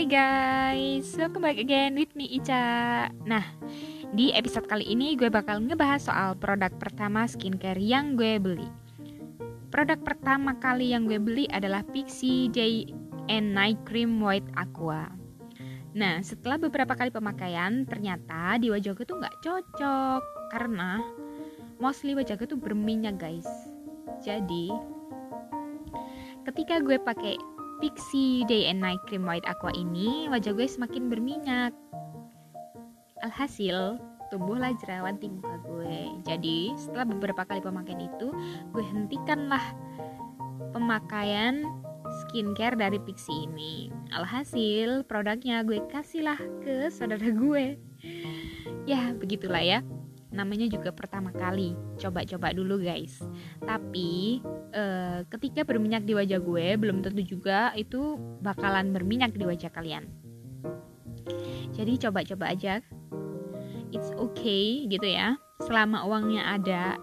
Hai guys, welcome back again with me Ica. Nah, di episode kali ini gue bakal ngebahas soal produk pertama skincare yang gue beli. Produk pertama kali yang gue beli adalah Pixi Day and Night Cream White Aqua. Nah, setelah beberapa kali pemakaian, ternyata di wajah gue tuh gak cocok karena mostly wajah gue tuh berminyak guys. Jadi, ketika gue pakai Pixi Day and Night Cream White Aqua ini, wajah gue semakin berminyak. Alhasil, tumbuhlah jerawat di muka gue. Jadi, setelah beberapa kali pemakaian itu, gue hentikanlah pemakaian skincare dari Pixi ini. Alhasil, produknya gue kasihlah ke saudara gue. Ya, begitulah ya. Namanya juga pertama kali, coba-coba dulu guys. Tapi ketika berminyak di wajah gue, belum tentu juga itu bakalan berminyak di wajah kalian. Jadi coba-coba aja, it's okay gitu ya, selama uangnya ada.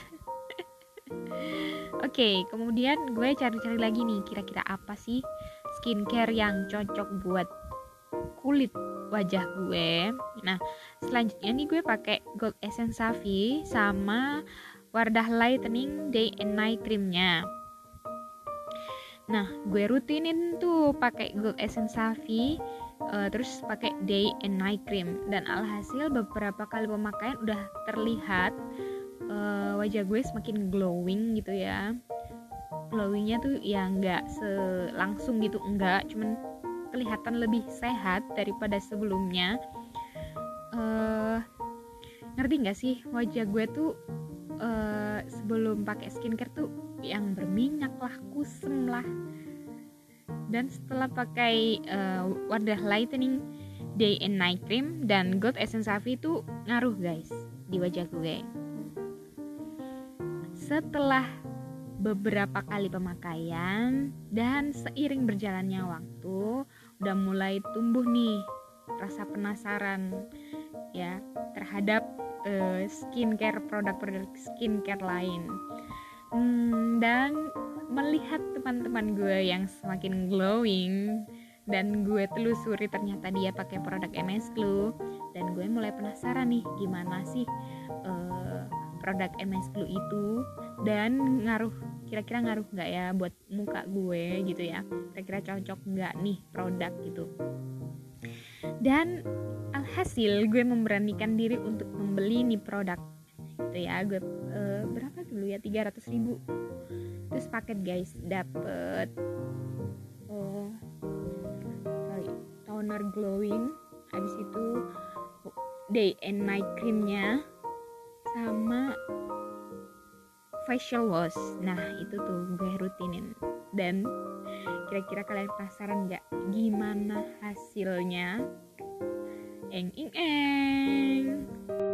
Oke, kemudian gue cari-cari lagi nih, kira-kira apa sih skincare yang cocok buat kulit wajah gue. Nah, selanjutnya nih gue pakai Gold Essence Savi sama Wardah Lightening Day and Night Creamnya. Nah, gue rutinin tuh pakai Gold Essence Savi, terus pakai Day and Night Cream, dan alhasil beberapa kali pemakaian udah terlihat wajah gue semakin glowing gitu ya. Glowingnya tuh ya nggak langsung gitu, enggak, cuman kelihatan lebih sehat daripada sebelumnya. Ngerti nggak sih, wajah gue tuh sebelum pakai skincare tuh yang berminyak lah, kusem lah. Dan setelah pakai Wardah Lightening Day and Night Cream dan Gold Essence Savi itu ngaruh guys di wajah gue. Setelah beberapa kali pemakaian dan seiring berjalannya waktu, udah mulai tumbuh nih rasa penasaran ya terhadap skincare, produk-produk skincare lain. Dan melihat teman-teman gue yang semakin glowing dan gue telusuri ternyata dia pakai produk MS Glow, dan gue mulai penasaran nih gimana sih produk MS Glow itu, dan kira-kira ngaruh nggak ya buat muka gue gitu ya, kira-kira cocok nggak nih produk gitu. Dan alhasil gue memberanikan diri untuk membeli nih produk gitu ya. Gue berapa dulu ya, 300.000. Terus paket guys, dapet toner glowing, habis itu day and night creamnya, sama facial wash. Nah itu tuh gue rutinin. Dan kira-kira kalian penasaran gak gimana hasilnya? Eng.